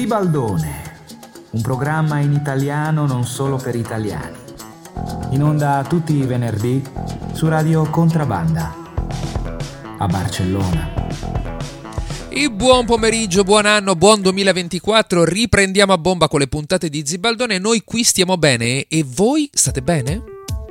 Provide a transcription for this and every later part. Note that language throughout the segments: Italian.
Zibaldone, un programma in italiano non solo per italiani. In onda tutti i venerdì su Radio Contrabanda a Barcellona. E buon pomeriggio, buon anno, buon 2024. Riprendiamo a bomba con le puntate di Zibaldone. Noi qui stiamo bene e voi state bene?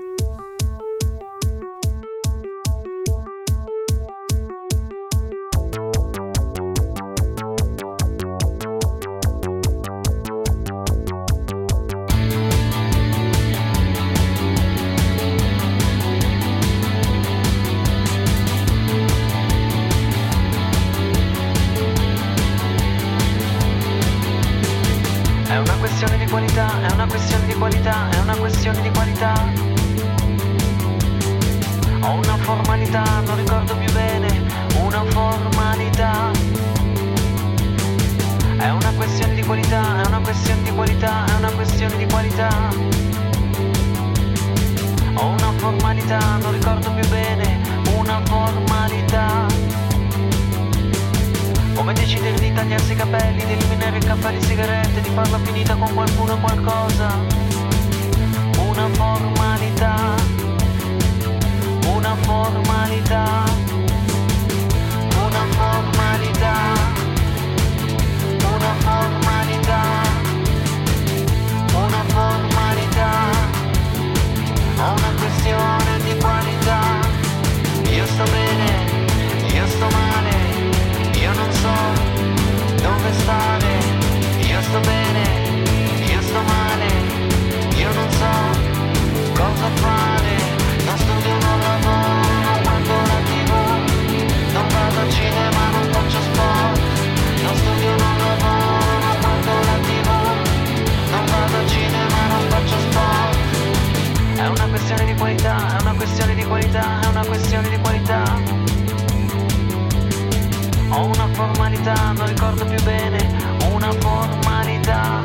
Come decidere di tagliarsi i capelli, di eliminare il caffè, le sigarette, di farla finita con qualcuno o qualcosa. Una formalità, una formalità, una formalità, una formalità, una formalità, è una questione di qualità. Io sto bene, io sto male, io non so dove stare, io sto bene, io sto male, io non so cosa fare, non studio, non lavoro, non guardo la TV, non vado al cinema, non faccio sport, non studio, non lavoro, non guardo la TV, non vado al cinema, non faccio sport. È una questione di qualità, è una questione di qualità, è una questione di qualità. Ho una formalità, non ricordo più bene, una formalità.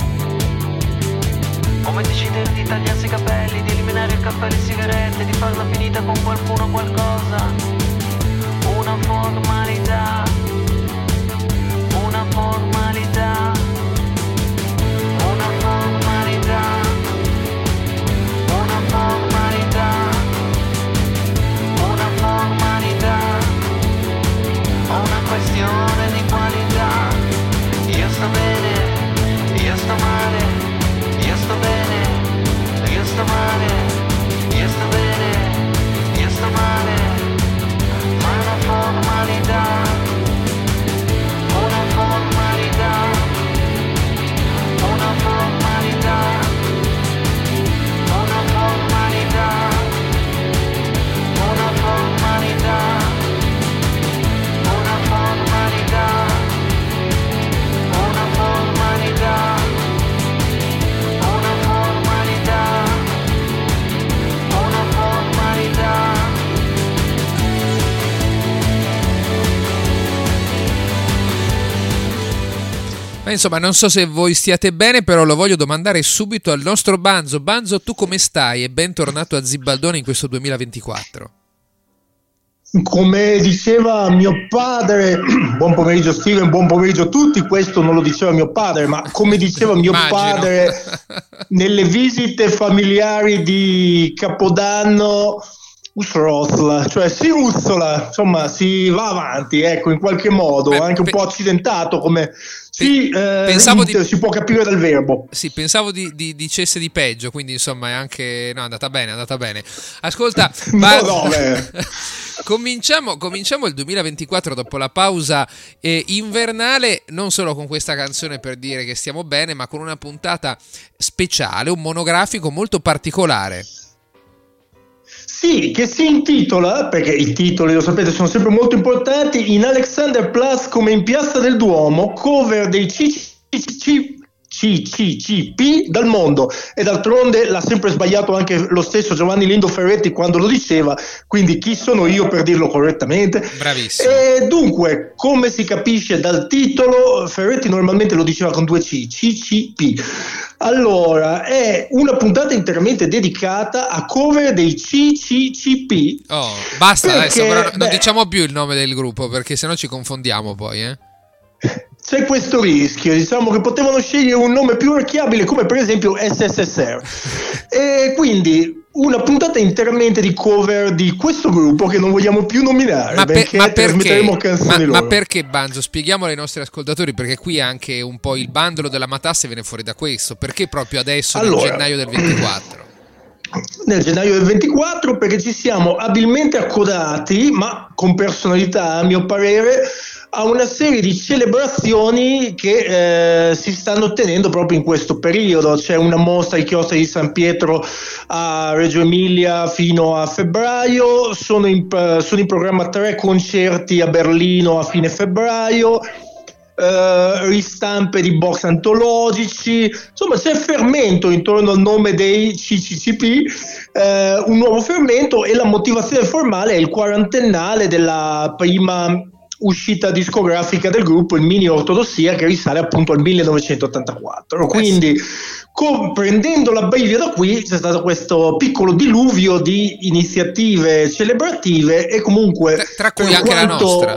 Come decidere di tagliarsi i capelli, di eliminare il caffè e le sigarette, di farla finita con qualcuno o qualcosa. Una formalità, una formalità, una formalità, una formalità, una formalità. Una questione di qualità. Io sto bene, io sto male, io sto bene, io sto male, io sto bene, io sto male. Ma è una formalità, una formalità, una formalità, una formalità, una formalità. Una formalità, una formalità, una formalità, una formalità. Ma insomma, non so se voi stiate bene, però lo voglio domandare subito al nostro Banzo. Banzo, tu come stai? E bentornato a Zibaldone in questo 2024. Come diceva mio padre, buon pomeriggio Steven, buon pomeriggio a tutti, questo non lo diceva mio padre, ma come diceva mio padre nelle visite familiari di Capodanno, usrosla, cioè si uzzola, insomma si va avanti, ecco, in qualche modo, anche un po' accidentato come si può capire dal verbo. Sì, pensavo dicesse di peggio, quindi insomma è anche, no, è andata bene. Ascolta, cominciamo il 2024 dopo la pausa invernale, non solo con questa canzone per dire che stiamo bene, ma con una puntata speciale, un monografico molto particolare. Sì, che si intitola, perché i titoli, lo sapete, sono sempre molto importanti, in Alexanderplatz come in Piazza del Duomo, cover dei CCCP dal mondo, e d'altronde l'ha sempre sbagliato anche lo stesso Giovanni Lindo Ferretti quando lo diceva, quindi chi sono io per dirlo correttamente? Bravissimo. E dunque, come si capisce dal titolo, Ferretti normalmente lo diceva con 2 C, CCP. Allora, è una puntata interamente dedicata a cover dei CCCP. Oh, basta perché, adesso, però non diciamo più il nome del gruppo, perché sennò ci confondiamo poi, c'è questo rischio, diciamo che potevano scegliere un nome più orecchiabile come per esempio SSSR, e quindi una puntata interamente di cover di questo gruppo che non vogliamo più nominare, ma trasmetteremo canzoni loro. Ma perché, Banzo? Spieghiamolo ai nostri ascoltatori, perché qui anche un po' il bandolo della matassa viene fuori da questo. Perché proprio adesso, nel gennaio del 24? Nel gennaio del 24 perché ci siamo abilmente accodati, ma con personalità a mio parere, a una serie di celebrazioni che si stanno tenendo proprio in questo periodo. C'è una mostra ai chiostri di San Pietro a Reggio Emilia fino a febbraio, sono in programma 3 concerti a Berlino a fine febbraio, ristampe di box antologici, insomma c'è fermento intorno al nome dei CCCP, un nuovo fermento, e la motivazione formale è il quarantennale della prima uscita discografica del gruppo, il Mini Ortodossia, che risale appunto al 1984. Quindi prendendo la brivia da qui c'è stato questo piccolo diluvio di iniziative celebrative, e comunque tra cui anche la nostra.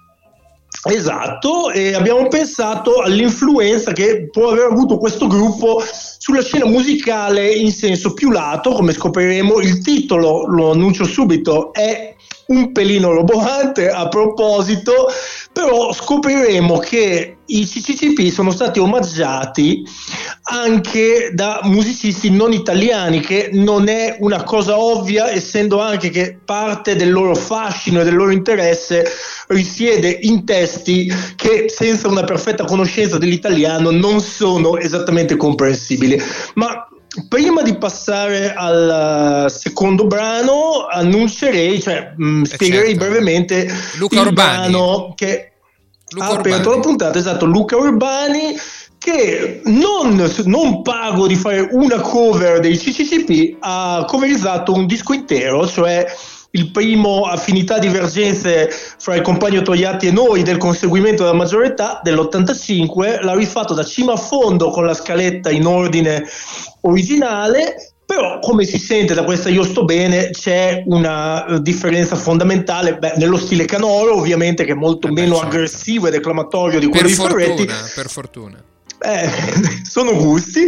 Esatto, e abbiamo pensato all'influenza che può aver avuto questo gruppo sulla scena musicale in senso più lato. Come scopriremo, il titolo, lo annuncio subito, è un pelino roboante a proposito, però scopriremo che i CCCP sono stati omaggiati anche da musicisti non italiani, che non è una cosa ovvia, essendo anche che parte del loro fascino e del loro interesse risiede in testi che senza una perfetta conoscenza dell'italiano non sono esattamente comprensibili. Ma prima di passare al secondo brano annuncerei, spiegherei brevemente Luca il Urbani, brano che ha aperto la puntata. Esatto, Luca Urbani, che non pago di fare una cover dei CCCP, ha coverizzato un disco intero, cioè il primo Affinità Divergenze fra il compagno Togliatti e noi del Conseguimento della maggiore età dell'85, l'ha rifatto da cima a fondo con la scaletta in ordine originale, però come si sente da questa Io sto bene c'è una differenza fondamentale, nello stile canoro ovviamente, che è molto meno aggressivo e declamatorio di quello di Ferretti. Per fortuna. Sono gusti.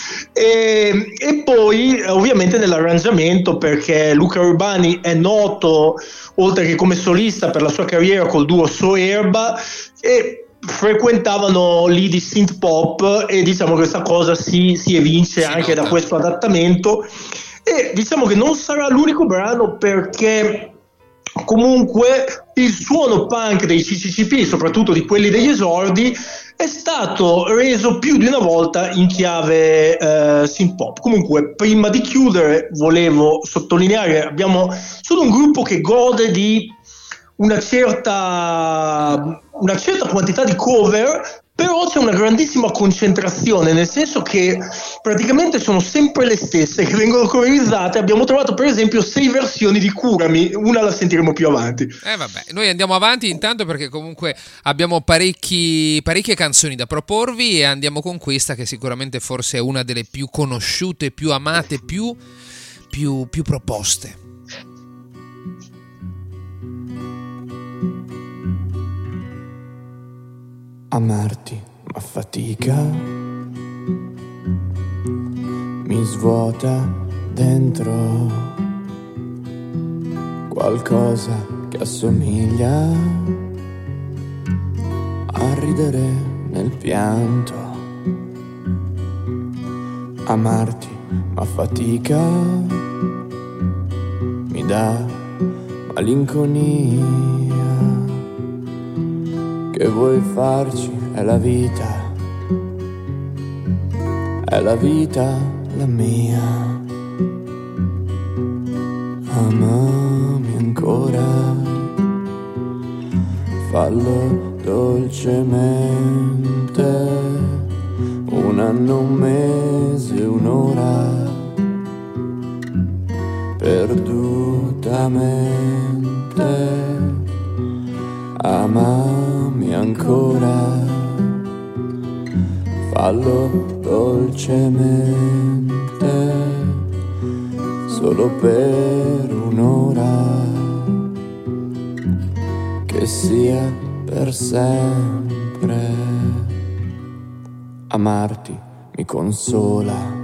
E poi ovviamente nell'arrangiamento, perché Luca Urbani è noto oltre che come solista per la sua carriera col duo Soerba, e frequentavano lì di synth pop, e diciamo che questa cosa si evince anche da questo adattamento. E diciamo che non sarà l'unico brano, perché comunque il suono punk dei CCCP, soprattutto di quelli degli esordi, è stato reso più di una volta in chiave synth pop. Comunque, prima di chiudere, volevo sottolineare, sono un gruppo che gode di una certa quantità di cover, però c'è una grandissima concentrazione, nel senso che praticamente sono sempre le stesse che vengono coverizzate. Abbiamo trovato per esempio 6 versioni di Curami, una la sentiremo più avanti. Vabbè, noi andiamo avanti intanto, perché comunque abbiamo parecchie canzoni da proporvi, e andiamo con questa che sicuramente forse è una delle più conosciute, più amate, più proposte. Amarti ma fatica, mi svuota dentro qualcosa che assomiglia a ridere nel pianto. Amarti ma fatica, mi dà malinconia. Che vuoi farci? È la vita la mia. Amami ancora, fallo dolcemente, un anno, un mese, un'ora, perdutamente. Amami ancora, fallo dolcemente, solo per un'ora, che sia per sempre. amarti mi consola.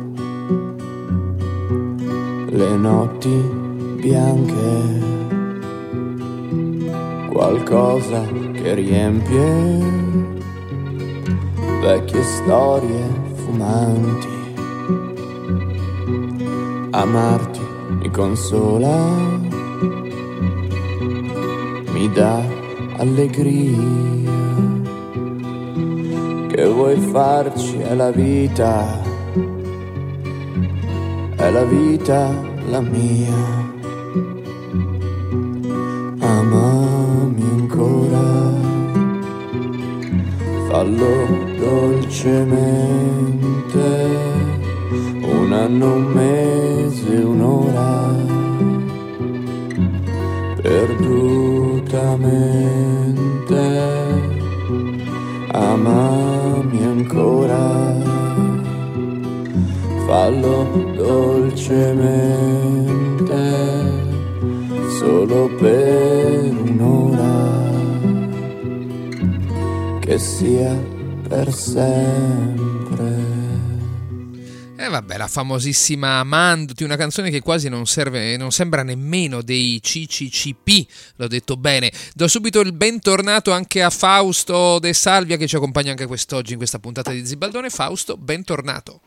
Le notti bianche, qualcosa che riempie vecchie storie fumanti. Amarti mi consola, mi dà allegria. Che vuoi farci? È la vita la mia. Amami ancora, fallo dolcemente, un anno, un mese, un'ora, perdutamente. Amami ancora, fallo dolcemente, solo per un'ora, che sia per sempre. E vabbè, la famosissima Amandoti, una canzone che quasi non sembra nemmeno dei CCCP, l'ho detto bene. Do subito il bentornato anche a Fausto De Salvia, che ci accompagna anche quest'oggi in questa puntata di Zibaldone. Fausto, bentornato.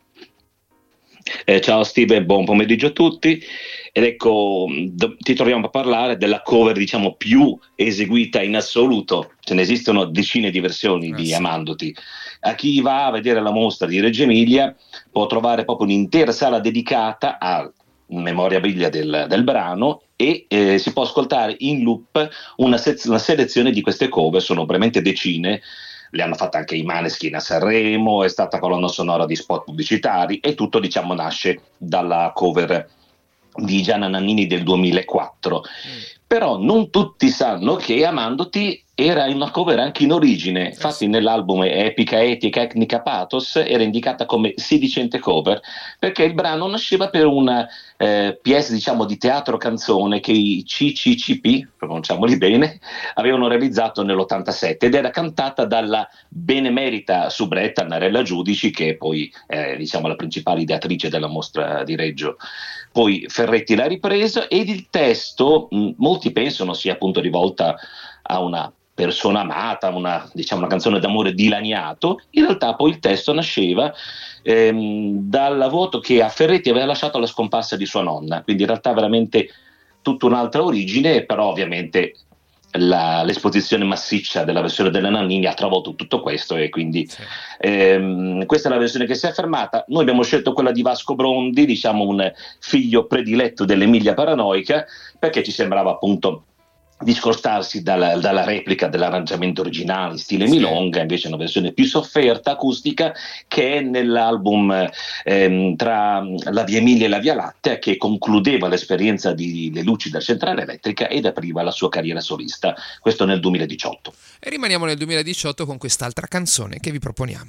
Ciao Steve, buon pomeriggio a tutti. Ed ecco, ti troviamo a parlare della cover, diciamo, più eseguita in assoluto. Ce ne esistono decine di versioni di Amandoti. A chi va a vedere la mostra di Reggio Emilia può trovare proprio un'intera sala dedicata a memorabilia del brano e si può ascoltare in loop una selezione di queste cover. Sono veramente decine. Le hanno fatte anche i Maneskin a Sanremo, è stata colonna sonora di spot pubblicitari e tutto, diciamo, nasce dalla cover di Gianna Nannini del 2004. Però non tutti sanno che Amandoti era una cover anche in origine. Infatti nell'album Epica Etica Etnica Pathos era indicata come sedicente cover, perché il brano nasceva per una pièce, diciamo, di teatro canzone che i CCCP, pronunciamoli bene, avevano realizzato nell'87 ed era cantata dalla benemerita soubretta Narella Giudici, che è poi diciamo la principale ideatrice della mostra di Reggio. Poi Ferretti l'ha ripreso ed il testo molti pensano sia appunto rivolta a una persona amata, una canzone d'amore dilaniato. In realtà poi il testo nasceva dal voto che a Ferretti aveva lasciato alla scomparsa di sua nonna, quindi in realtà veramente tutta un'altra origine, però ovviamente l'esposizione massiccia della versione della Nannini ha travolto tutto questo e quindi questa è la versione che si è affermata. Noi abbiamo scelto quella di Vasco Brondi, diciamo un figlio prediletto dell'Emilia Paranoica, perché ci sembrava appunto discostarsi dalla replica dell'arrangiamento originale in stile milonga, invece è una versione più sofferta, acustica, che è nell'album tra la Via Emilia e la Via Lattea, che concludeva l'esperienza di Le luci della centrale elettrica ed apriva la sua carriera solista, questo nel 2018. E rimaniamo nel 2018 con quest'altra canzone che vi proponiamo.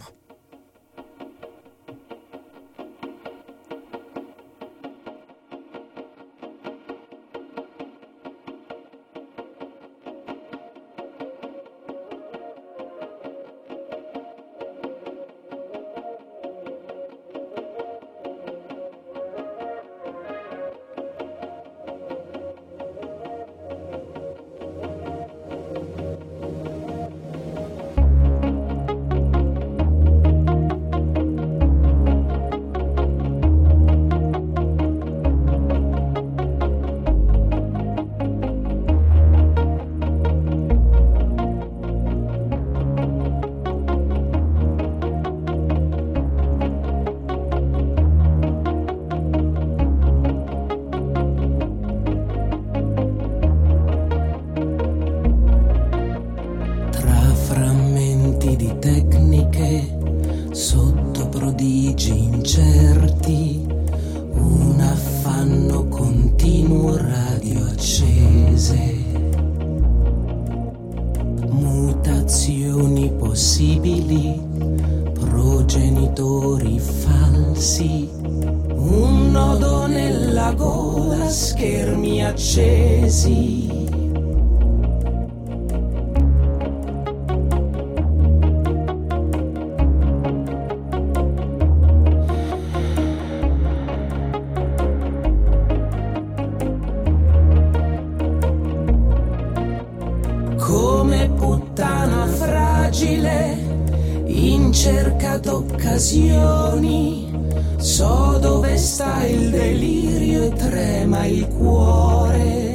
cerca d'occasioni, so dove sta il delirio e trema il cuore.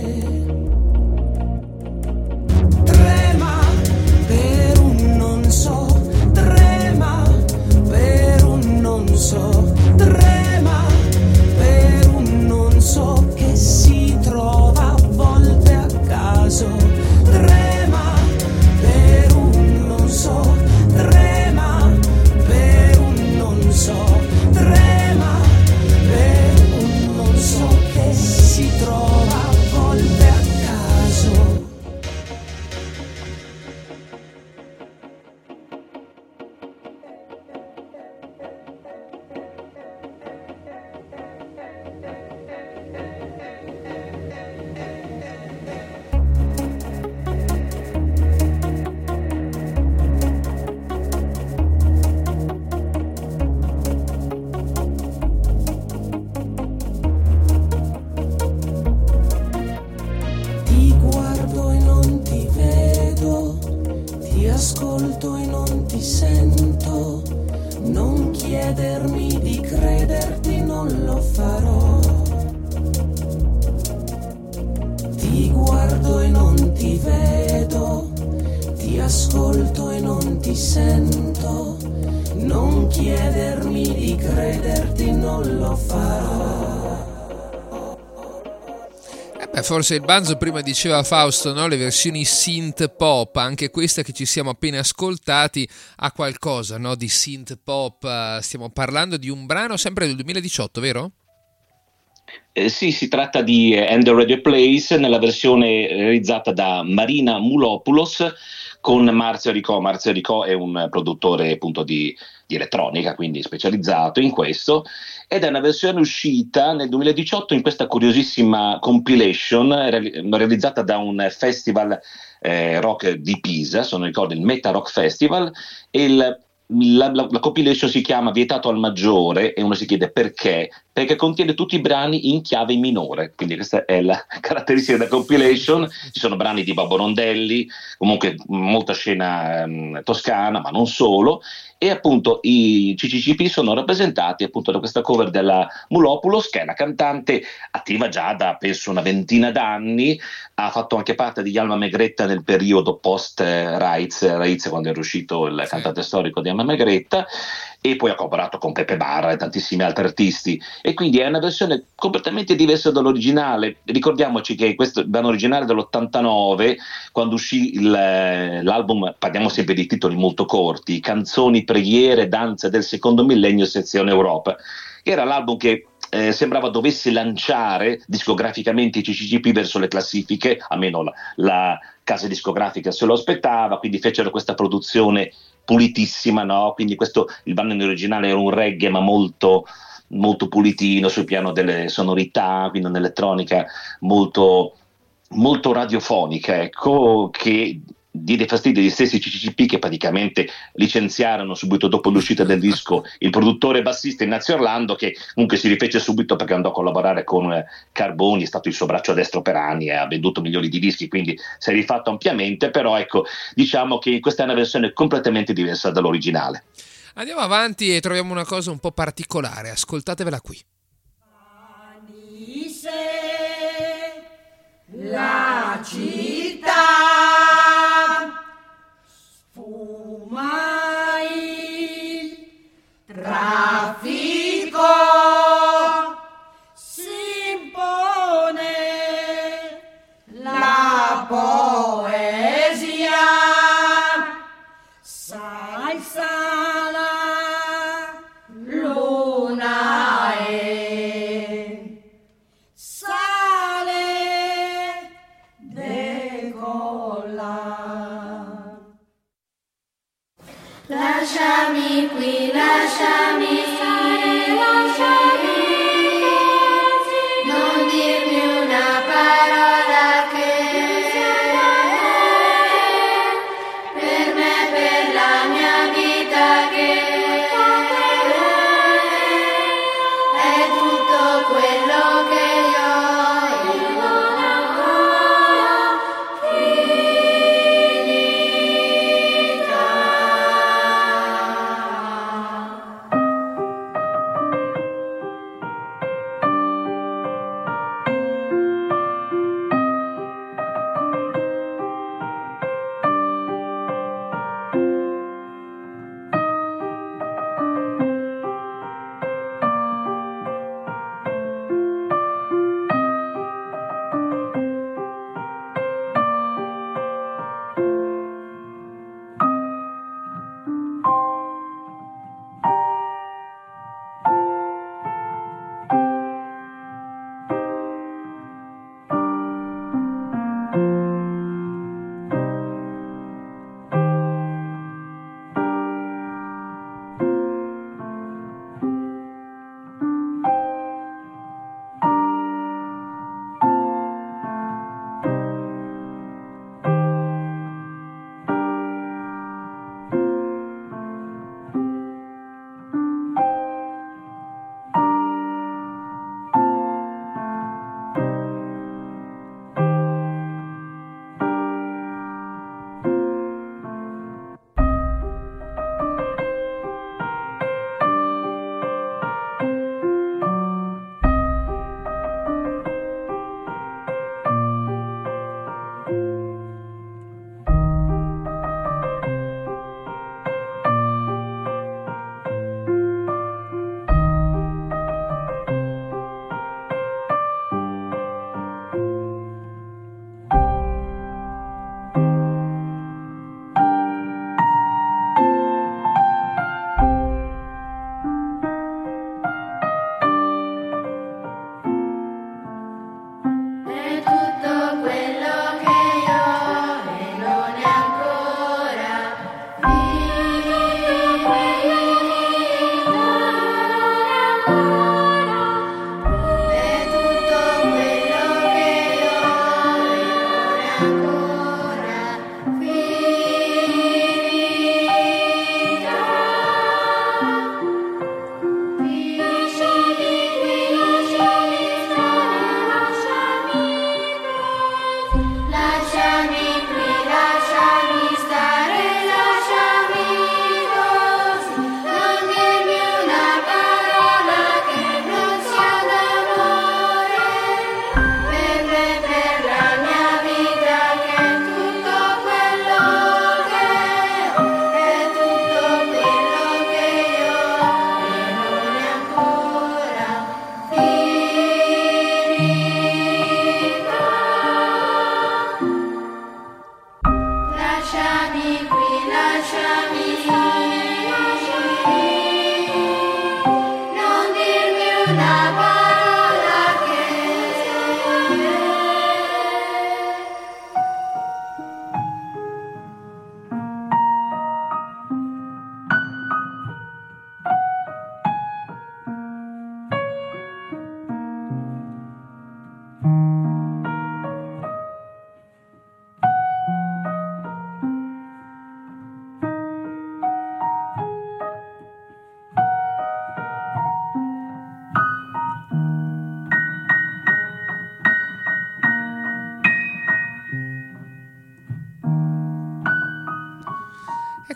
Trema per un non so, trema per un non so, trema per un non so che si trova a volte a caso. Trema per un non so, trema per un non so, trema per un non so che si trova a volte a caso. Ti guardo e non ti vedo, ti ascolto e non ti sento, non chiedermi di crederti, non lo farò. Ti guardo e non ti vedo, ti ascolto e non ti sento, non chiedermi di crederti, non lo farò. Forse il Banzo prima diceva Fausto, no? Le versioni synth pop, anche questa che ci siamo appena ascoltati ha qualcosa, no? Di synth pop. Stiamo parlando di un brano sempre del 2018, vero? Sì, si tratta di And the Radio Place nella versione realizzata da Marina Mulopoulos con Marzio Ricò. Marzio Ricò è un produttore appunto di elettronica, quindi specializzato in questo, ed è una versione uscita nel 2018 in questa curiosissima compilation realizzata da un festival rock di Pisa, se non ricordo il Meta Rock Festival, e la compilation si chiama Vietato al maggiore e uno si chiede perché contiene tutti i brani in chiave minore, quindi questa è la caratteristica della compilation. Ci sono brani di Babbo Rondelli, comunque molta scena toscana, ma non solo, e appunto i CCCP sono rappresentati appunto da questa cover della Mulopoulos, che è una cantante attiva già da penso una ventina d'anni, ha fatto anche parte di Alma Megretta nel periodo post Raiz, quando era uscito il cantante storico di Alma Megretta, e poi ha collaborato con Pepe Barra e tantissimi altri artisti, e quindi è una versione completamente diversa dall'originale. Ricordiamoci che questo brano originale dell'89, quando uscì l'album, parliamo sempre di titoli molto corti, Canzoni, preghiere, danze del secondo millennio, sezione Europa, che era l'album che sembrava dovesse lanciare discograficamente i CCCP verso le classifiche, almeno la casa discografica se lo aspettava, quindi fecero questa produzione pulitissima, no? Quindi il brano in originale era un reggae ma molto, molto pulitino sul piano delle sonorità, quindi un'elettronica molto, molto radiofonica, ecco, che diede fastidio agli stessi CCCP, che praticamente licenziarono subito dopo l'uscita del disco il produttore bassista Ignazio Orlando, che comunque si rifece subito perché andò a collaborare con Carboni, è stato il suo braccio destro per anni e ha venduto milioni di dischi, quindi si è rifatto ampiamente. Però ecco, diciamo che questa è una versione completamente diversa dall'originale. Andiamo avanti e troviamo una cosa un po' particolare, ascoltatevela qui. La città sfuma il traffico, si impone la poesia, salsa la luna e sale decolla. Lasciami qui, lasciami qui, lasciami, non dirmi una parola che per me, per la mia vita, che è tutto quello che io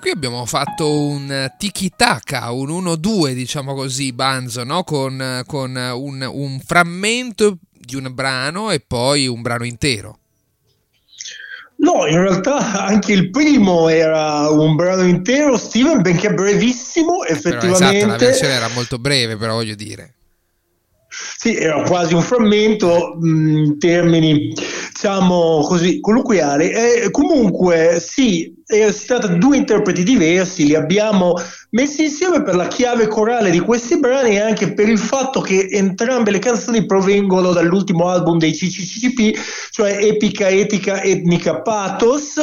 qui abbiamo fatto un tiki-taka, un 1-2, diciamo così, Banzo, no? Con un frammento di un brano e poi un brano intero. No, in realtà anche il primo era un brano intero, Steven, benché brevissimo, effettivamente. Però, esatto, la versione era molto breve, però voglio dire. Sì, era quasi un frammento in termini, diciamo così, colloquiali. Comunque, sì, si tratta di due interpreti diversi, li abbiamo messi insieme per la chiave corale di questi brani e anche per il fatto che entrambe le canzoni provengono dall'ultimo album dei CCCP, cioè Epica, Etica, Etnica, Pathos.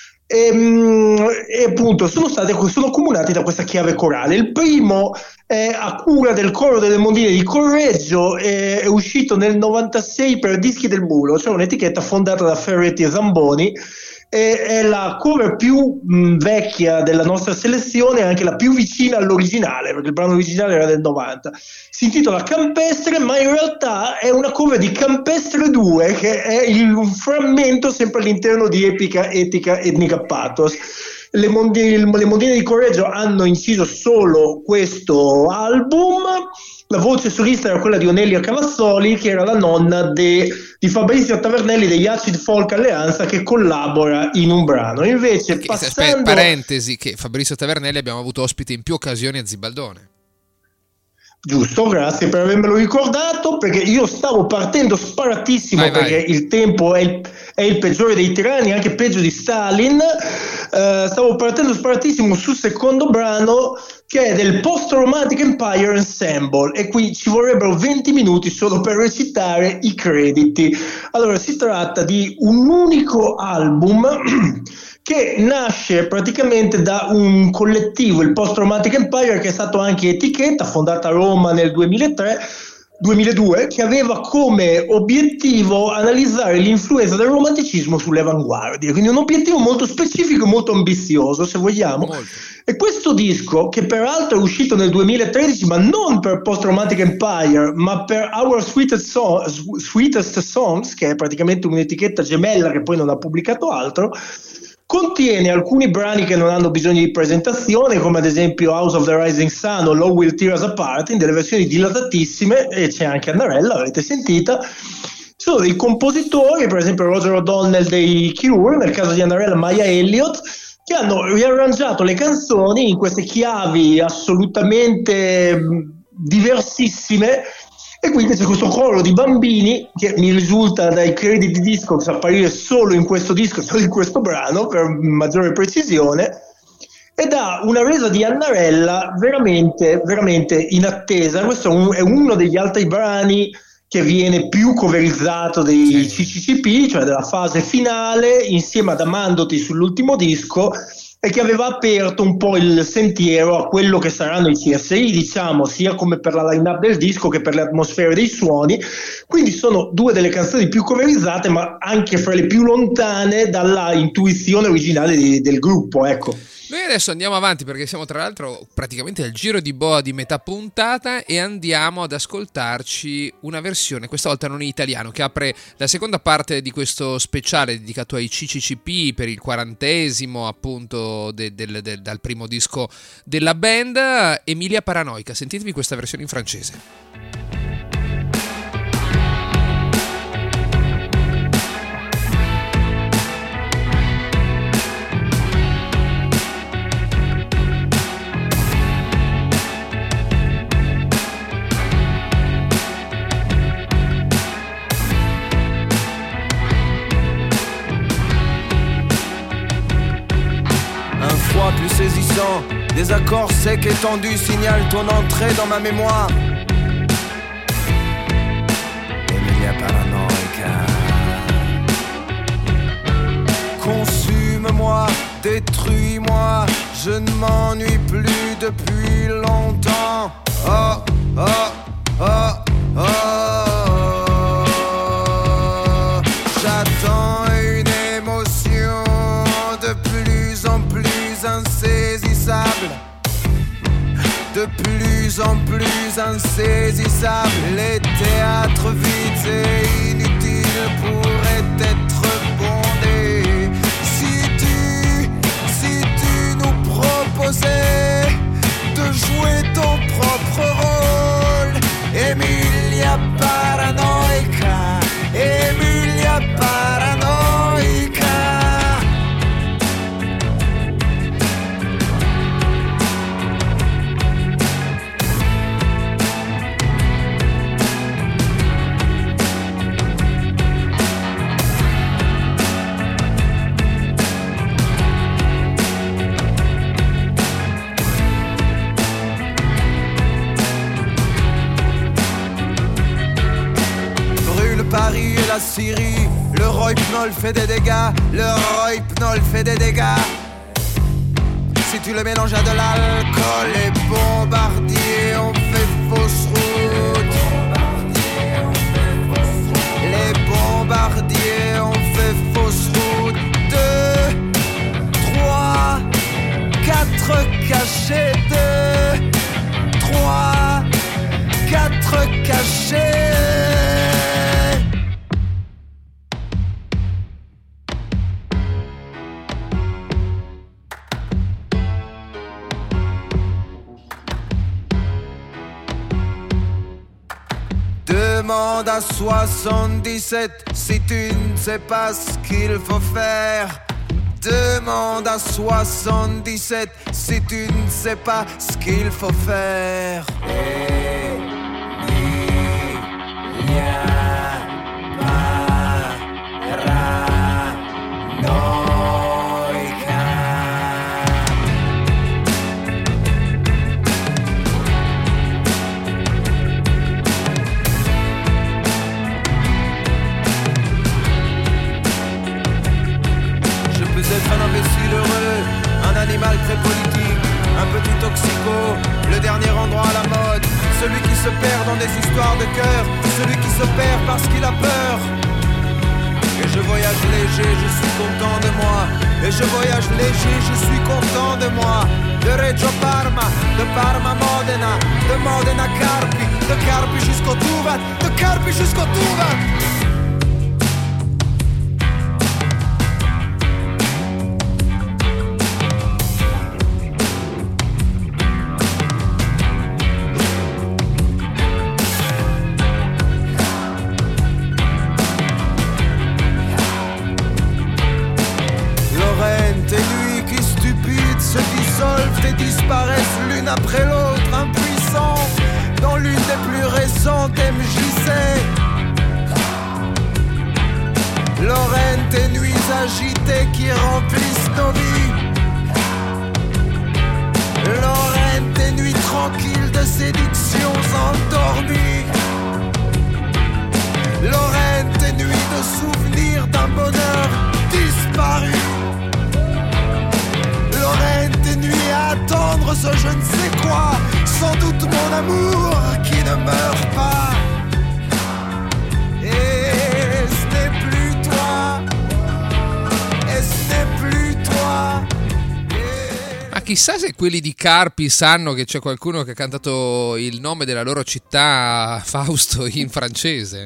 E appunto sono comunati da questa chiave corale. Il primo è a cura del coro delle Mondine di Correggio, è uscito nel 96 per Dischi del Mulo, cioè un'etichetta fondata da Ferretti e Zamboni. È la cover più vecchia della nostra selezione e anche la più vicina all'originale, perché il brano originale era del 90. Si intitola Campestre, ma in realtà è una cover di Campestre 2, che è un frammento sempre all'interno di Epica, Etica, Etnica, Pathos. Le Mondine di Correggio hanno inciso solo questo album. La voce solista era quella di Onelia Cavazzoli, che era la nonna di Fabrizio Tavernelli degli Acid Folk Alleanza, che collabora in un brano. Invece, parentesi, che Fabrizio Tavernelli abbiamo avuto ospite in più occasioni a Zibaldone. Giusto, grazie per avermelo ricordato, perché io stavo partendo sparatissimo, perché il tempo è il peggiore dei tiranni, anche peggio di Stalin. Stavo partendo sparatissimo sul secondo brano, che è del Post Romantic Empire Ensemble, e qui ci vorrebbero 20 minuti solo per recitare i crediti. Allora, si tratta di un unico album che nasce praticamente da un collettivo, il Post Romantic Empire, che è stato anche etichetta, fondata a Roma nel 2002, che aveva come obiettivo analizzare l'influenza del romanticismo sulle avanguardie, quindi un obiettivo molto specifico e molto ambizioso, se vogliamo. Molto. E questo disco, che peraltro è uscito nel 2013, ma non per Post Romantic Empire, ma per Our Sweetest Songs, che è praticamente un'etichetta gemella che poi non ha pubblicato altro, contiene alcuni brani che non hanno bisogno di presentazione, come ad esempio House of the Rising Sun o Love Will Tear Us Apart, in delle versioni dilatatissime, e c'è anche Annarella, l'avete sentita. Sono dei compositori, per esempio Roger O'Donnell dei Cure, nel caso di Annarella Maya Elliott, che hanno riarrangiato le canzoni in queste chiavi assolutamente diversissime. E quindi c'è questo coro di bambini, che mi risulta dai crediti di disco che apparire solo in questo disco, solo in questo brano, per maggiore precisione, ed ha una resa di Annarella veramente, veramente inattesa. Questo è uno degli altri brani che viene più coverizzato dei CCCP, cioè della fase finale, insieme ad Amandoti sull'ultimo disco, e che aveva aperto un po' il sentiero a quello che saranno i CSI, diciamo, sia come per la line-up del disco che per le atmosfere dei suoni. Quindi sono due delle canzoni più coverizzate, ma anche fra le più lontane dalla intuizione originale del gruppo, ecco. Noi adesso andiamo avanti, perché siamo tra l'altro praticamente al giro di boa di metà puntata, e andiamo ad ascoltarci una versione, questa volta non in italiano, che apre la seconda parte di questo speciale dedicato ai CCCP per il 40° appunto dal primo disco della band, Emilia Paranoica. Sentitevi questa versione in francese. Plus saisissant, des accords secs et tendus signalent ton entrée dans ma mémoire. Emilia Paranoica. Consume-moi, détruis-moi, je ne m'ennuie plus depuis longtemps. Oh, oh, oh, oh. J'attends une émotion de plus en plus insaisissable, de plus en plus insaisissable. Les théâtres vides et inutiles pourraient être bondés si tu nous promets Paris et la Syrie. Le Rohypnol fait des dégâts, le Rohypnol fait des dégâts. Si tu le mélanges à de l'alcool, les bombardiers ont fait fausse route. Les bombardiers ont fait fausse route. 2, 3, 4 cachés. 2, 3, 4 cachés. Demande à 77 si tu ne sais pas ce qu'il faut faire. Demande à 77 si tu ne sais pas ce qu'il faut faire. Animal très politique, un petit toxico, le dernier endroit à la mode, celui qui se perd dans des histoires de cœur, celui qui se perd parce qu'il a peur. Et je voyage léger, je suis content de moi. Et je voyage léger, je suis content de moi. De Reggio Parma, de Parma Modena, de Modena Carpi, de Carpi jusqu'au Tuvat, de Carpi jusqu'au Tuvat. Disparaissent l'une après l'autre, impuissants, dans l'une des plus récentes MJC. Lorraine, tes nuits agitées qui remplissent nos vies. Lorraine, tes nuits tranquilles de séductions endormies. Lorraine, tes nuits de souvenirs d'un bonheur disparu. Lorraine, tes nuits à attendre ce je ne sais quoi, sans doute mon amour qui ne meurt pas. Et ce n'est plus toi, et ce n'est plus toi. Ma chissà se quelli di Carpi sanno che c'è qualcuno che ha cantato il nome della loro città, Fausto, in francese.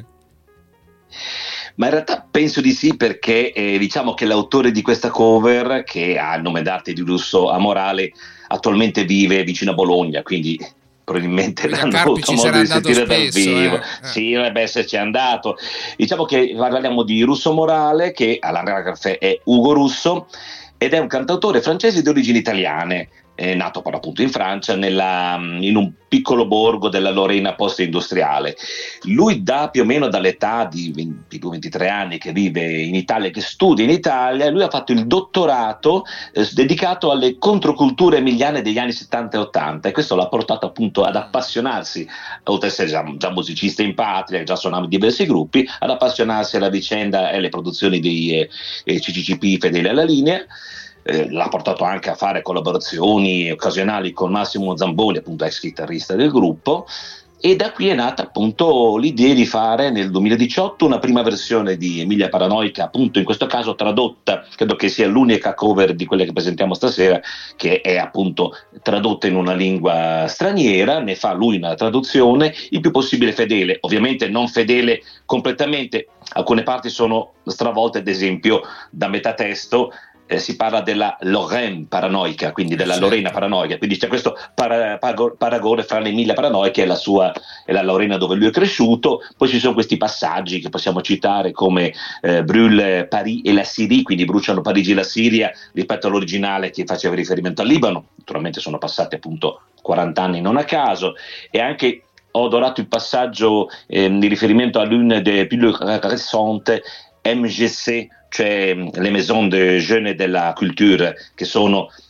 Ma in realtà penso di sì, perché diciamo che l'autore di questa cover, che ha il nome d'arte di Russo Amorale, attualmente vive vicino a Bologna, quindi probabilmente l'hanno avuto modo di sentire dal vivo. Sì, dovrebbe esserci andato. Diciamo che parliamo di Russo Amorale, che all'anagrafe è Ugo Russo, ed è un cantautore francese di origini italiane. È nato però appunto in Francia, in un piccolo borgo della Lorena post-industriale. Lui più o meno dall'età di 22-23 anni che vive in Italia, che studia in Italia, lui ha fatto il dottorato dedicato alle controculture emiliane degli anni 70 e 80, e questo l'ha portato appunto ad appassionarsi, oltre ad essere già musicista in patria, già suonava in diversi gruppi, ad appassionarsi alla vicenda e alle produzioni dei CCCP Fedele alla linea. L'ha portato anche a fare collaborazioni occasionali con Massimo Zamboni, appunto ex chitarrista del gruppo, e da qui è nata appunto l'idea di fare nel 2018 una prima versione di Emilia Paranoica, appunto in questo caso tradotta, credo che sia l'unica cover di quelle che presentiamo stasera che è appunto tradotta in una lingua straniera. Ne fa lui una traduzione il più possibile fedele, ovviamente non fedele completamente, alcune parti sono stravolte, ad esempio da metatesto si parla della Lorraine paranoica, quindi della Lorena paranoica, quindi c'è questo paragone fra l'Emilia Paranoica e la Lorena dove lui è cresciuto. Poi ci sono questi passaggi che possiamo citare come brûle Paris e la Syrie, quindi bruciano Parigi e la Siria rispetto all'originale che faceva riferimento al Libano. Naturalmente sono passati appunto 40 anni non a caso, e anche ho adorato il passaggio di riferimento a l'une des plus récentes MJC, cioè le Maison de Jeunes de la Culture, che sono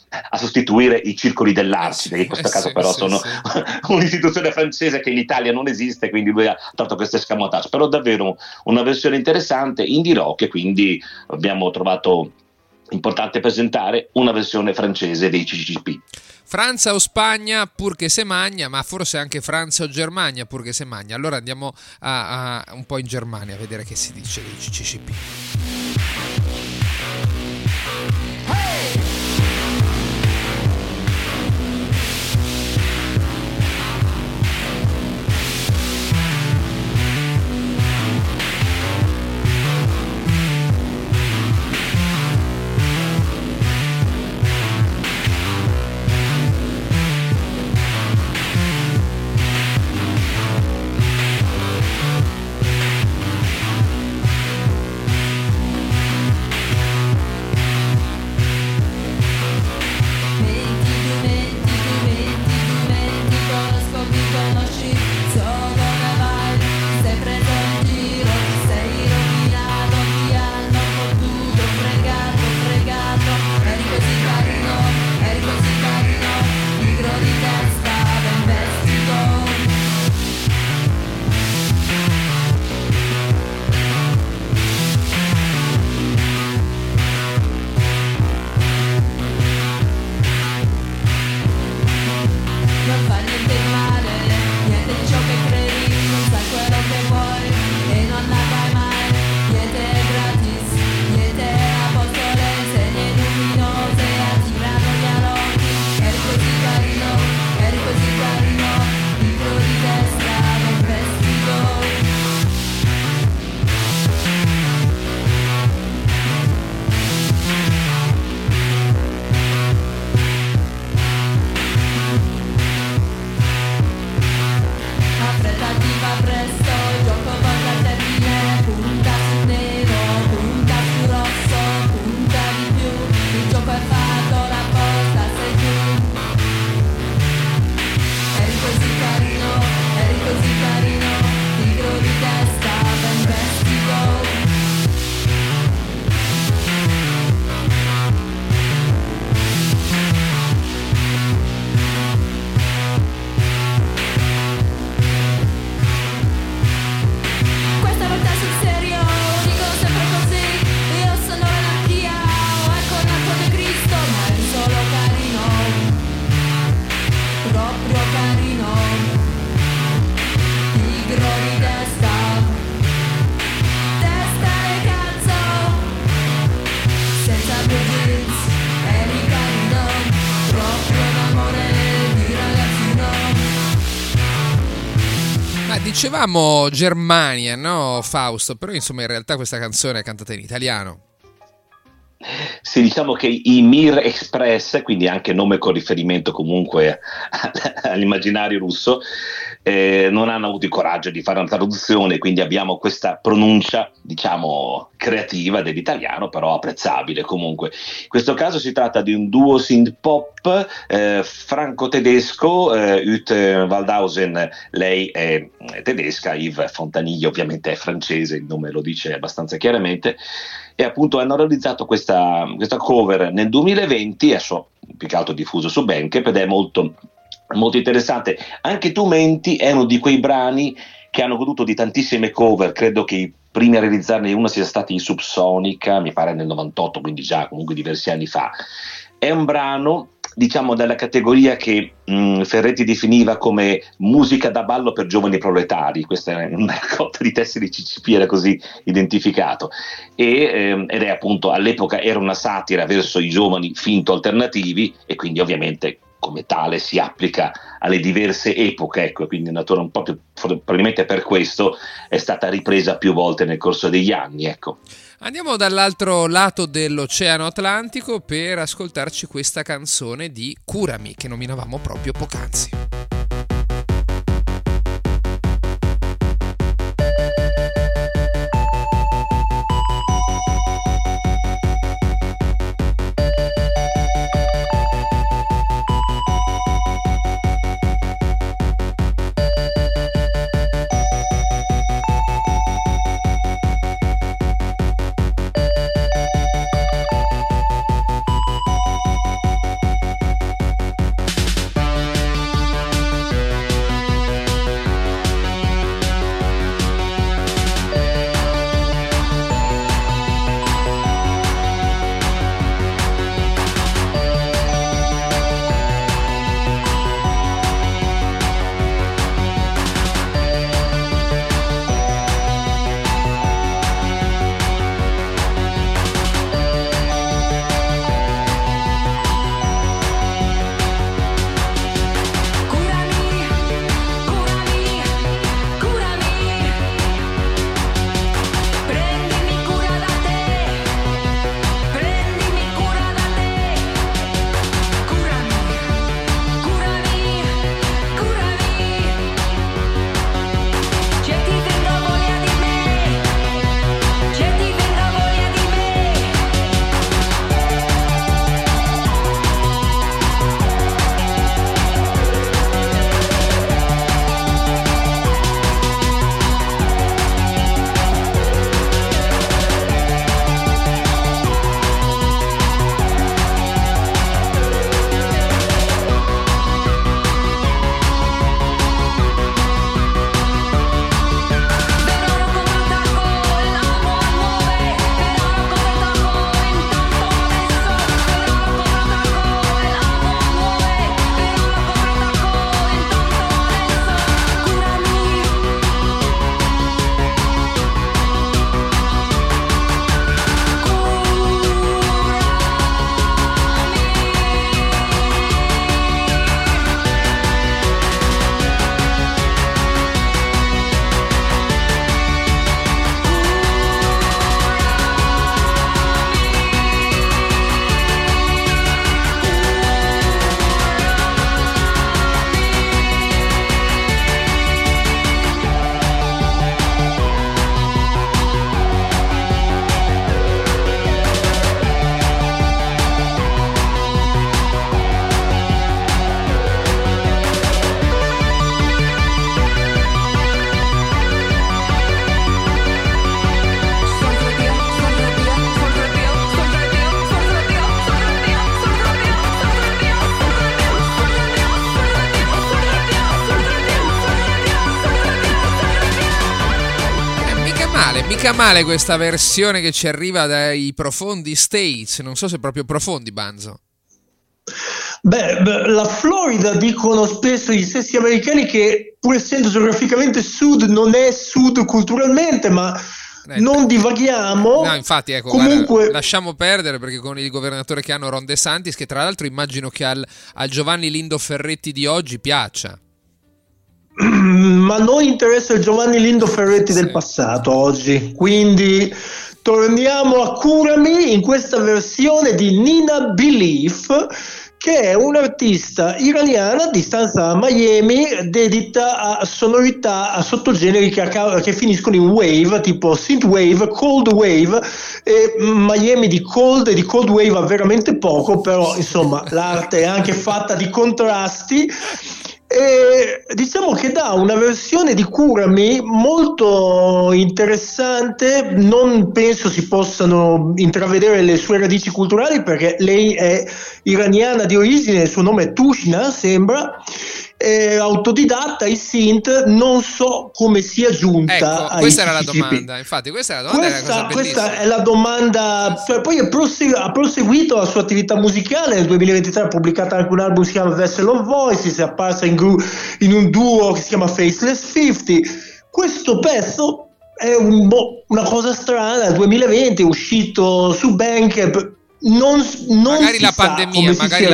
a sostituire i circoli dell'Arci, che in questo caso però sono un'istituzione francese che in Italia non esiste, quindi lui ha tratto questo escamotage, però davvero una versione interessante, indie rock, e quindi abbiamo trovato importante presentare una versione francese dei CCCP. Francia o Spagna pur che se magna, ma forse anche Francia o Germania pur che se magna. Allora andiamo a un po' in Germania a vedere che si dice dei CCCP. Dicevamo Germania, no Fausto? Però insomma in realtà questa canzone è cantata in italiano. Sì, diciamo che i Mir Express, quindi anche nome con riferimento comunque all'immaginario russo, non hanno avuto il coraggio di fare una traduzione, quindi abbiamo questa pronuncia, diciamo, creativa dell'italiano, però apprezzabile comunque. In questo caso si tratta di un duo synth pop franco-tedesco, Ute Waldhausen, lei è tedesca, Yves Fontanille ovviamente è francese, il nome lo dice abbastanza chiaramente, e appunto hanno realizzato questa cover nel 2020, adesso più che altro diffuso su Bandcamp, ed è molto interessante. Anche Tu Menti è uno di quei brani che hanno goduto di tantissime cover, credo che i primi a realizzarne uno sia stati i Subsonica, mi pare nel 98, quindi già comunque diversi anni fa. È un brano, diciamo, della categoria che Ferretti definiva come musica da ballo per giovani proletari. Questa è una raccolta di testi di CCP, era così identificato, ed è appunto, all'epoca era una satira verso i giovani finto alternativi, e quindi ovviamente come tale si applica alle diverse epoche, ecco, quindi un po' più, probabilmente per questo è stata ripresa più volte nel corso degli anni, ecco. Andiamo dall'altro lato dell'Oceano Atlantico per ascoltarci questa canzone di Curami che nominavamo proprio poc'anzi. Mica male questa versione che ci arriva dai profondi States, non so se proprio profondi, Banzo. Beh, la Florida dicono spesso gli stessi americani che, pur essendo geograficamente sud, non è sud culturalmente, ma non divaghiamo. No, infatti, ecco, comunque guarda, lasciamo perdere, perché con il governatore che hanno, Ron DeSantis, che tra l'altro immagino che al Giovanni Lindo Ferretti di oggi piaccia. Ma a noi interessa il Giovanni Lindo Ferretti del passato oggi, quindi torniamo a Curami in questa versione di Nina Belief, che è un'artista iraniana di stanza a Miami, dedita a sonorità, a sottogeneri che finiscono in wave, tipo synth wave, cold wave, e Miami di cold e di cold wave ha veramente poco, però insomma l'arte è anche fatta di contrasti. E diciamo che dà una versione di Curami molto interessante. Non penso si possano intravedere le sue radici culturali, perché lei è iraniana di origine, il suo nome è Tushna, sembra, è autodidatta, i synth, non so come sia giunta. Ecco, questa era la domanda, infatti questa è la domanda, questa è la domanda. Poi ha proseguito la sua attività musicale. Nel 2023 ha pubblicato anche un album che si chiama Vessel of Voices, è apparsa in un duo che si chiama Faceless 50. Questo pezzo è una cosa strana, nel 2020 è uscito su Bandcamp. Magari la pandemia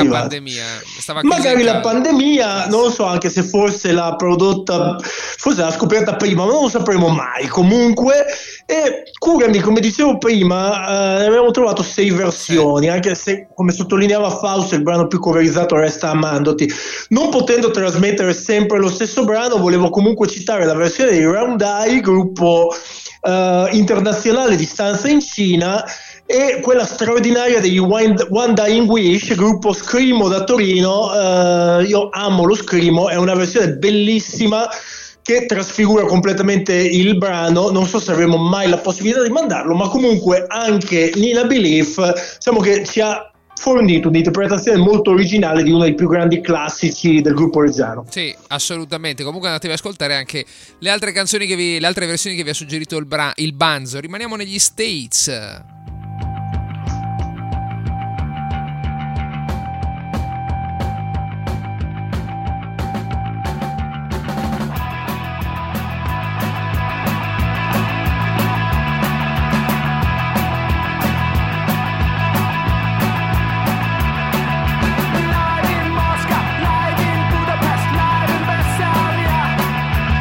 magari la pandemia, non lo so, anche se forse l'ha prodotta, forse l'ha scoperta prima, ma non lo sapremo mai. Comunque, e Curami, come dicevo prima, ne abbiamo trovato 6 versioni, anche se, come sottolineava Fausto, il brano più coverizzato resta Amandoti. Non potendo trasmettere sempre lo stesso brano, volevo comunque citare la versione di Round Eye, gruppo internazionale di stanza in Cina, e quella straordinaria degli One Dying Wish, gruppo Screamo da Torino. Io amo lo Screamo, è una versione bellissima che trasfigura completamente il brano. Non so se avremo mai la possibilità di mandarlo, ma comunque anche Nina Belief, diciamo che ci ha fornito un'interpretazione molto originale di uno dei più grandi classici del gruppo reggiano. Sì, assolutamente. Comunque andatevi ad ascoltare anche le altre canzoni le altre versioni che vi ha suggerito il Banzo. Rimaniamo negli States.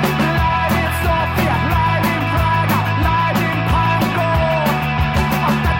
Sofia, live in Praga, live in Pankow.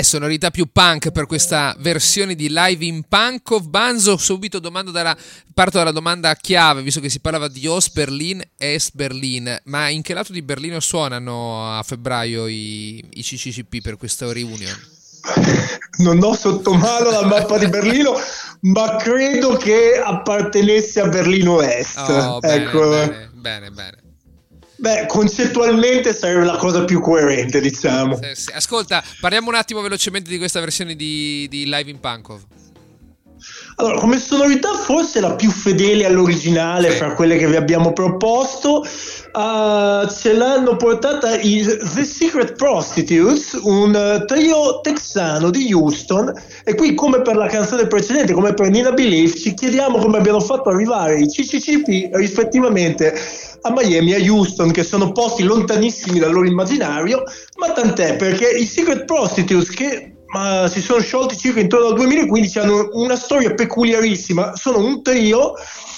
sonorità più punk per questa versione di Live in Punkov. Banzo, subito parto dalla domanda chiave, visto che si parlava di Ost-Berlin e Est-Berlin, ma in che lato di Berlino suonano a febbraio i CCCP per questa reunion? Non ho sotto mano la mappa di Berlino, ma credo che appartenesse a Berlino Est. Ecco. Bene. Beh, concettualmente sarebbe la cosa più coerente, diciamo. Sì. Ascolta, parliamo un attimo velocemente di questa versione di Live in Punkov. Allora, come sonorità forse la più fedele all'originale fra quelle che vi abbiamo proposto. Ce l'hanno portata i The Secret Prostitutes, un trio texano di Houston, e qui, come per la canzone precedente, come per Nina Believe, ci chiediamo come abbiano fatto arrivare i CCCP rispettivamente a Miami e a Houston, che sono posti lontanissimi dal loro immaginario, ma tant'è, perché i Secret Prostitutes, che si sono sciolti circa intorno al 2015, hanno una storia peculiarissima. Sono un trio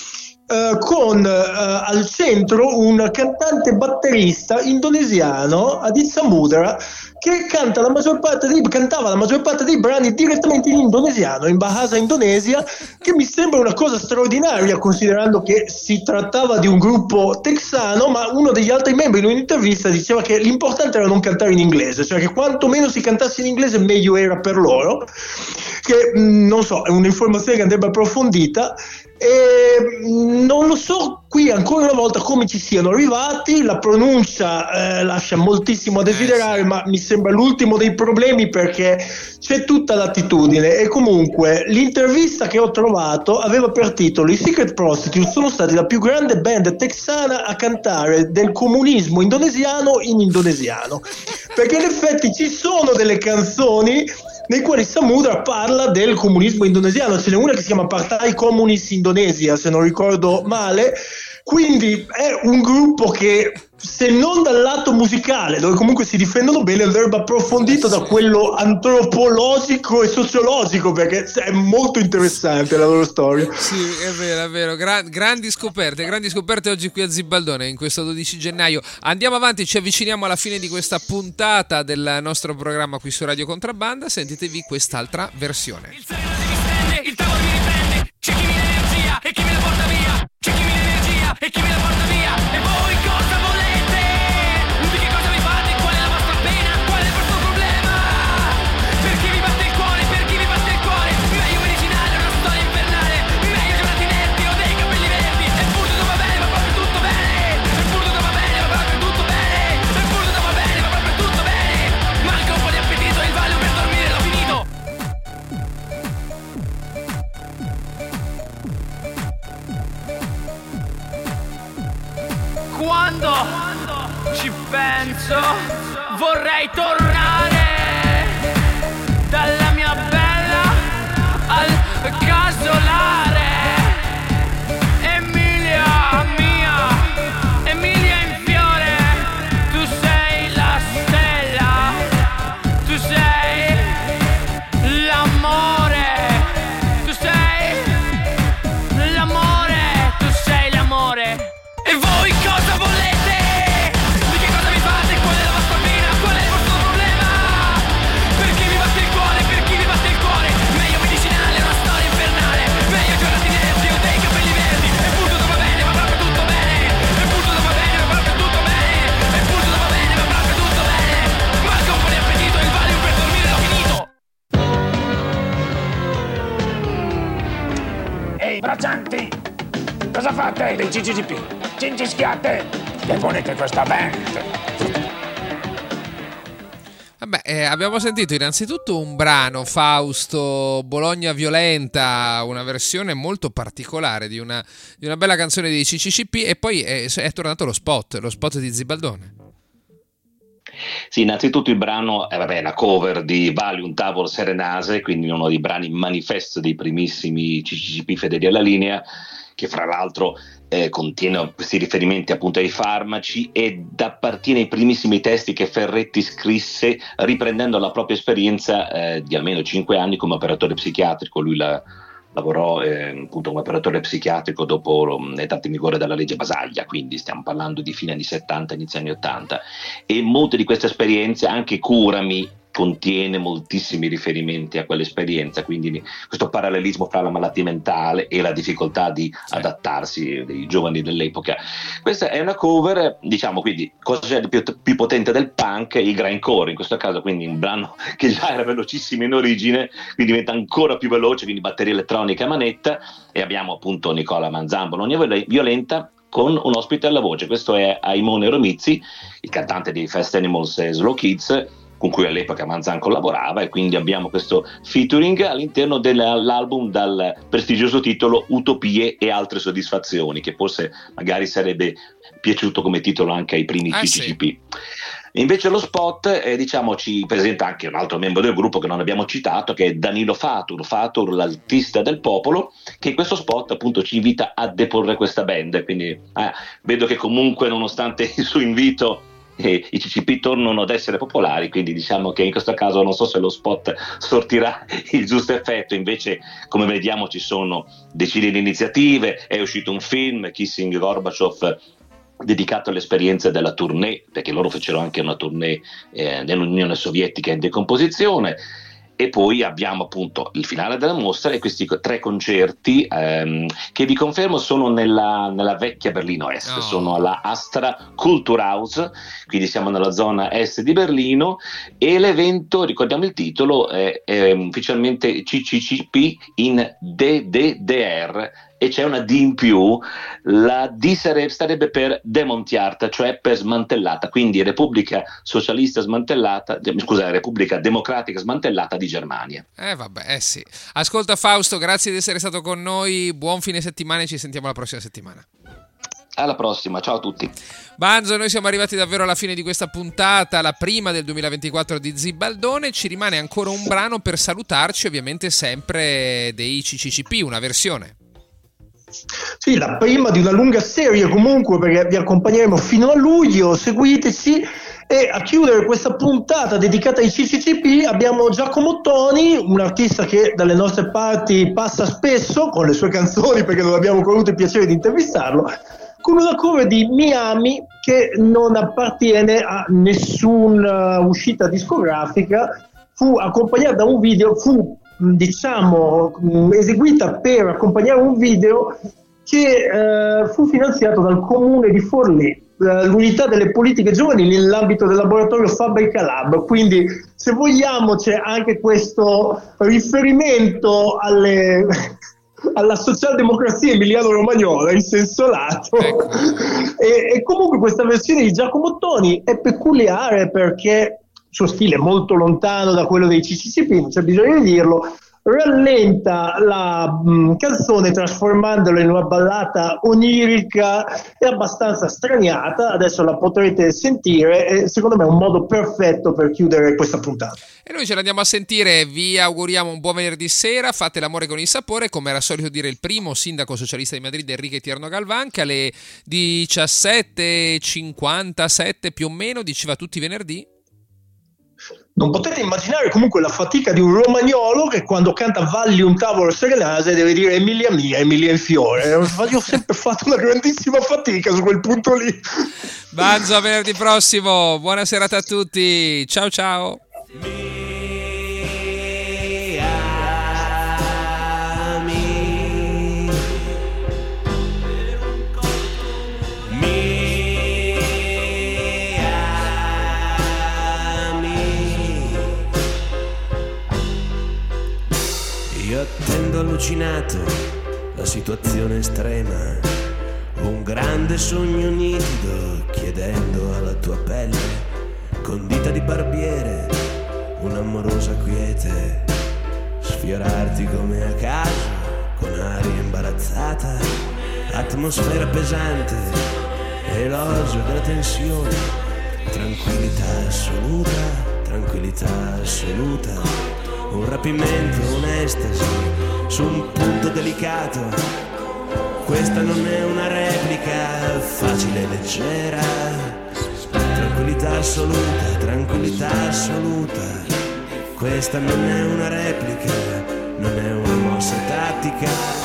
con al centro un cantante batterista indonesiano, Adit Samudra, che cantava la maggior parte dei brani direttamente in indonesiano, in Bahasa Indonesia, che mi sembra una cosa straordinaria, considerando che si trattava di un gruppo texano, ma uno degli altri membri in un'intervista diceva che l'importante era non cantare in inglese, cioè che quanto meno si cantasse in inglese meglio era per loro, che non so, è un'informazione che andrebbe approfondita. E non lo so qui ancora una volta come ci siano arrivati. La pronuncia lascia moltissimo a desiderare, ma mi sembra l'ultimo dei problemi, perché c'è tutta l'attitudine. E comunque l'intervista che ho trovato aveva per titolo: i Secret Prostitutes sono stati la più grande band texana a cantare del comunismo indonesiano in indonesiano, perché in effetti ci sono delle canzoni nei quali Samudra parla del comunismo indonesiano. Ce n'è una che si chiama Partai Komunis Indonesia, se non ricordo male. Quindi è un gruppo che, se non dal lato musicale, dove comunque si difendono bene, andrebbe approfondito da quello antropologico e sociologico, perché è molto interessante la loro storia. Sì, è vero. Grandi scoperte oggi qui a Zibaldone, in questo 12 gennaio. Andiamo avanti, ci avviciniamo alla fine di questa puntata del nostro programma qui su Radio Contrabbanda. Sentitevi quest'altra versione. Il sereno si distende, il tavolo mi riprende, c'è chi mi dà energia e chi me la porta via, c'è chi mi dà energia e chi me la porta via. E voi cosa volete? Di che cosa vi fate? Qual è la vostra pena? Qual è il vostro problema? Per chi vi batte il cuore? Per chi vi batte il cuore? Meglio medicinale, una storia infernale, meglio giornati inerti o dei capelli verdi. E pur tutto va bene, va proprio tutto bene. E pur tutto va bene, va proprio tutto bene. E pur tutto va bene, va proprio tutto bene. Manca un po' di appetito e il Valium per dormire l'ho finito. Quando ci penso vorrei tornare dalla mia bella al casolare. Emilia mia, Emilia in fiore, tu sei la stella, tu sei l'amore, tu sei l'amore, tu sei l'amore. E voi cosa volete? Di che cosa vi fate? Qual è la vostra pena? Qual è il vostro problema? Per chi vi batte il cuore? Per chi vi batte il cuore? Meglio medicinale, una storia infernale, meglio giornati inerti o dei capelli verdi. E pur tutto va bene, va proprio tutto bene. E pur tutto va bene, va proprio tutto bene. E pur tutto va bene, va proprio tutto bene. Manca un po' di appetito e il Valium per dormire l'ho finito. Ehi, braccianti! Cosa fate dei CCCP? Cincischiate! Deponete questa band! Vabbè, abbiamo sentito innanzitutto un brano, Fausto, Bologna Violenta, una versione molto particolare di una bella canzone dei CCCP, e poi è tornato lo spot di Zibaldone. Sì, innanzitutto il brano è una cover di Valium Tavor Serenase, quindi uno dei brani manifesto dei primissimi CCCP fedeli alla linea, che fra l'altro contiene questi riferimenti appunto ai farmaci ed appartiene ai primissimi testi che Ferretti scrisse riprendendo la propria esperienza di almeno 5 anni come operatore psichiatrico. Lui lavorò appunto come operatore psichiatrico dopo l'entrata in vigore della legge Basaglia, quindi stiamo parlando di fine anni 70, inizio anni 80, e molte di queste esperienze, anche Curami contiene moltissimi riferimenti a quell'esperienza, quindi questo parallelismo fra la malattia mentale e la difficoltà di adattarsi dei giovani dell'epoca. Questa è una cover, diciamo, quindi cosa c'è di più potente del punk? Il grindcore, in questo caso, quindi un brano che già era velocissimo in origine, quindi diventa ancora più veloce, quindi batteria elettronica a manetta, e abbiamo appunto Nicola Manzambo, non è violenta, con un ospite alla voce. Questo è Aimone Romizzi, il cantante di Fast Animals e Slow Kids, con cui all'epoca Manzan collaborava, e quindi abbiamo questo featuring all'interno dell'album dal prestigioso titolo Utopie e altre soddisfazioni, che forse magari sarebbe piaciuto come titolo anche ai primi CCCP. Sì. Invece lo spot diciamo ci presenta anche un altro membro del gruppo che non abbiamo citato, che è Danilo Fatur, l'artista del popolo, che in questo spot appunto ci invita a deporre questa band, quindi vedo che comunque nonostante il suo invito i CCP tornano ad essere popolari, quindi diciamo che in questo caso non so se lo spot sortirà il giusto effetto. Invece, come vediamo, ci sono decine di iniziative, è uscito un film, Kissing Gorbachev, dedicato alle esperienze della tournée, perché loro fecero anche una tournée nell'Unione Sovietica in decomposizione. E poi abbiamo appunto il finale della mostra e questi 3 concerti che vi confermo sono nella vecchia Berlino Est, sono alla Astra Kulturhaus, quindi siamo nella zona est di Berlino, e l'evento, ricordiamo il titolo, è ufficialmente CCCP in DDR, e c'è una D in più, la D starebbe per demontiata, cioè per smantellata, quindi Repubblica Socialista smantellata, Repubblica Democratica smantellata di Germania. Sì. Ascolta Fausto, grazie di essere stato con noi, buon fine settimana e ci sentiamo la prossima settimana. Alla prossima, ciao a tutti. Banzo, noi siamo arrivati davvero alla fine di questa puntata, la prima del 2024 di Zibaldone. Ci rimane ancora un brano per salutarci, ovviamente sempre dei CCCP, una versione. Sì, la prima di una lunga serie comunque, perché vi accompagneremo fino a luglio, seguiteci. E a chiudere questa puntata dedicata ai CCCP abbiamo Giacomo Ottoni, un artista che dalle nostre parti passa spesso con le sue canzoni, perché non abbiamo avuto il piacere di intervistarlo, con una cover di Miami che non appartiene a nessuna uscita discografica, fu accompagnata da un video, eseguita per accompagnare un video che fu finanziato dal comune di Forlì, l'unità delle politiche giovanili nell'ambito del laboratorio Fabbrica Lab. Quindi, se vogliamo, c'è anche questo riferimento alla socialdemocrazia emiliano-romagnola in senso lato. Ecco. E comunque questa versione di Giacomo Ottoni è peculiare perché il suo stile è molto lontano da quello dei CCCP, non c'è bisogno di dirlo, rallenta la canzone trasformandola in una ballata onirica e abbastanza straniata. Adesso la potrete sentire e secondo me è un modo perfetto per chiudere questa puntata. E noi ce l'andiamo a sentire, vi auguriamo un buon venerdì sera, fate l'amore con il sapore, come era solito dire il primo sindaco socialista di Madrid, Enrique Tierno Galván, che alle 17:57 più o meno diceva tutti i venerdì. Non potete immaginare comunque la fatica di un romagnolo che quando canta Valli un tavolo serenase deve dire Emilia mia, Emilia in fiore. Io ho sempre fatto una grandissima fatica su quel punto lì. Banzo, a venerdì prossimo, buona serata a tutti, ciao ciao. Io attendo allucinato la situazione estrema, un grande sogno nitido chiedendo alla tua pelle, con dita di barbiere, un'amorosa quiete, sfiorarti come a caso, con aria imbarazzata, atmosfera pesante, elogio della tensione, tranquillità assoluta, un rapimento, un'estasi, su un punto delicato. Questa non è una replica facile e leggera. Tranquillità assoluta. Questa non è una replica, non è una mossa tattica.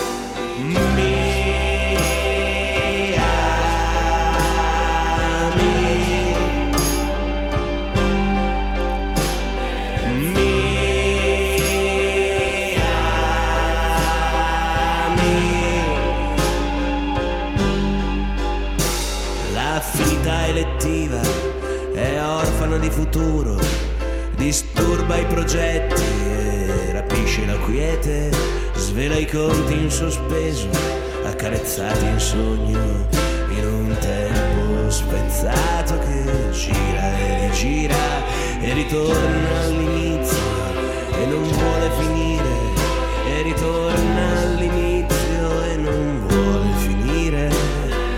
affinità elettiva, è orfano di futuro, disturba i progetti e rapisce la quiete, svela i conti in sospeso, accarezzati in sogno, in un tempo spezzato che gira e rigira e ritorna all'inizio e non vuole finire, e ritorna all'inizio e non vuole finire.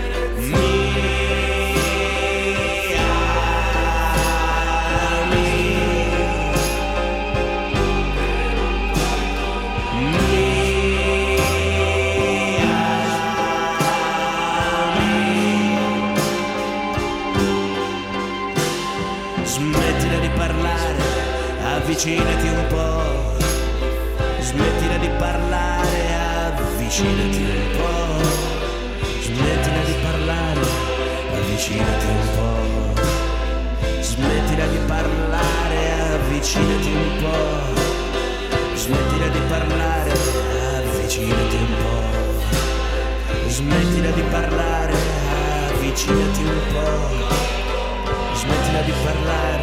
Smettila di parlare, avvicinati un po'. Smettila di parlare, avvicinati un po'. Smettila di parlare, avvicinati un po'. Smettila di parlare, avvicinati un po'. Smettila di parlare, avvicinati un po'. Smettila di parlare, avvicinati un po'. Smettila di parlare,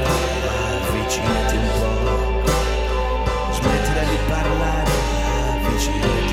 avvicinati un po'. Smettila di parlare, avvicinati